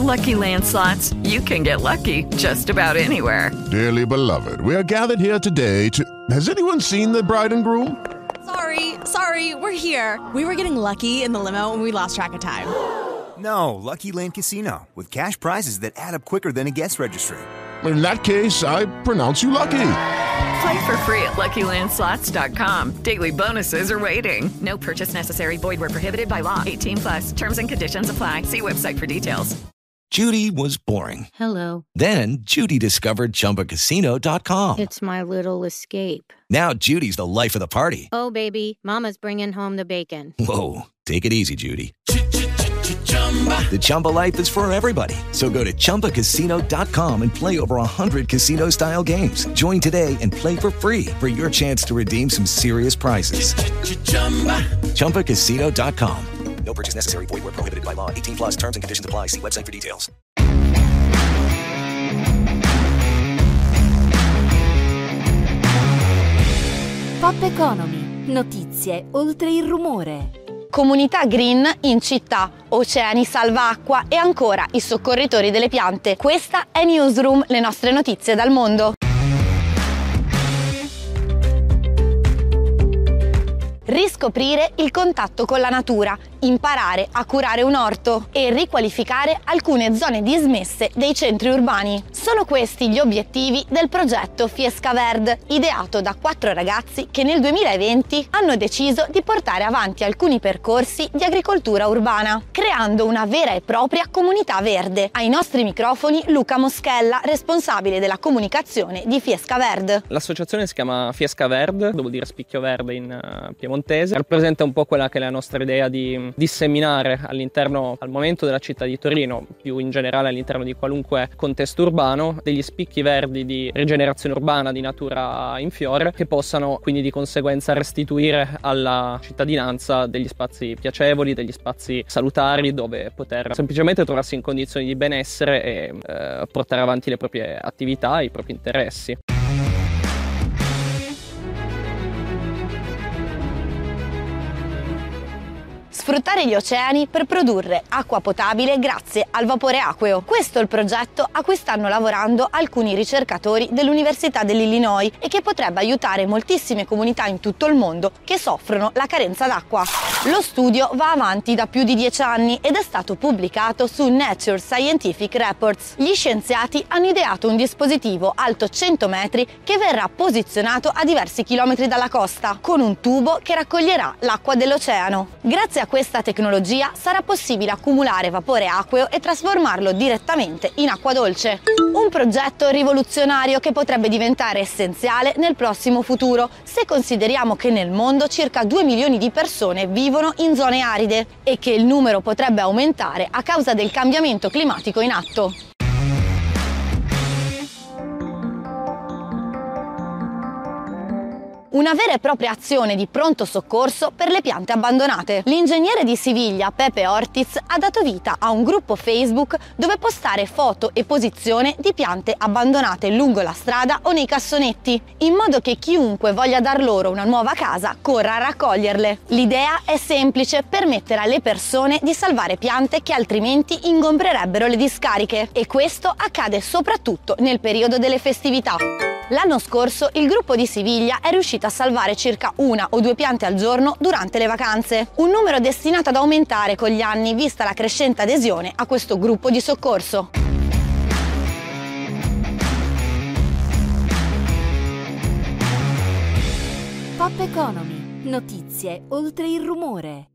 Lucky Land Slots, you can get lucky just about anywhere. Dearly beloved, we are gathered here today to... Has anyone seen the bride and groom? Sorry, we're here. We were getting lucky in the limo and we lost track of time. No, Lucky Land Casino, with cash prizes that add up quicker than a guest registry. In that case, I pronounce you lucky. Play for free at LuckyLandSlots.com. Daily bonuses are waiting. No purchase necessary. Void where prohibited by law. 18+. Terms and conditions apply. See website for details. Judy was boring. Hello. Then Judy discovered ChumbaCasino.com. It's my little escape. Now Judy's the life of the party. Oh, baby, mama's bringing home the bacon. Whoa, take it easy, Judy. The Chumba life is for everybody. So go to ChumbaCasino.com and play over 100 casino-style games. Join today and play for free for your chance to redeem some serious prizes. ChumbaCasino.com. No purchase necessary. Void where prohibited by law. 18+. Terms and conditions apply. See website for details. Pop Economy. Notizie oltre il rumore. Comunità green in città, oceani salva acqua e ancora i soccorritori delle piante. Questa è Newsroom, le nostre notizie dal mondo. Riscoprire il contatto con la natura, imparare a curare un orto e riqualificare alcune zone dismesse dei centri urbani. Sono questi gli obiettivi del progetto Fiesca Verd, ideato da 4 ragazzi che nel 2020 hanno deciso di portare avanti alcuni percorsi di agricoltura urbana, creando una vera e propria comunità verde. Ai nostri microfoni Luca Moschella, responsabile della comunicazione di Fiesca Verd. L'associazione si chiama Fiesca Verd, vuol dire spicchio verde in piemontese, rappresenta un po' quella che è la nostra idea di disseminare all'interno, al momento della città di Torino, più in generale all'interno di qualunque contesto urbano, degli spicchi verdi di rigenerazione urbana, di natura in fiore, che possano quindi di conseguenza restituire alla cittadinanza degli spazi piacevoli, degli spazi salutari dove poter semplicemente trovarsi in condizioni di benessere e portare avanti le proprie attività, i propri interessi. Sfruttare gli oceani per produrre acqua potabile grazie al vapore acqueo. Questo è il progetto a cui stanno lavorando alcuni ricercatori dell'Università dell'Illinois e che potrebbe aiutare moltissime comunità in tutto il mondo che soffrono la carenza d'acqua. Lo studio va avanti da più di 10 anni ed è stato pubblicato su Nature Scientific Reports. Gli scienziati hanno ideato un dispositivo alto 100 metri che verrà posizionato a diversi chilometri dalla costa, con un tubo che raccoglierà l'acqua dell'oceano. Grazie a questa tecnologia sarà possibile accumulare vapore acqueo e trasformarlo direttamente in acqua dolce. Un progetto rivoluzionario che potrebbe diventare essenziale nel prossimo futuro, se consideriamo che nel mondo circa 2 milioni di persone vivono in zone aride e che il numero potrebbe aumentare a causa del cambiamento climatico in atto. Una vera e propria azione di pronto soccorso per le piante abbandonate. L'ingegnere di Siviglia, Pepe Ortiz, ha dato vita a un gruppo Facebook dove postare foto e posizione di piante abbandonate lungo la strada o nei cassonetti, in modo che chiunque voglia dar loro una nuova casa corra a raccoglierle. L'idea è semplice: permettere alle persone di salvare piante che altrimenti ingombrerebbero le discariche, e questo accade soprattutto nel periodo delle festività. L'anno scorso il gruppo di Siviglia è riuscito a salvare circa 1 o 2 piante al giorno durante le vacanze, un numero destinato ad aumentare con gli anni vista la crescente adesione a questo gruppo di soccorso. Pop Economy. Notizie oltre il rumore.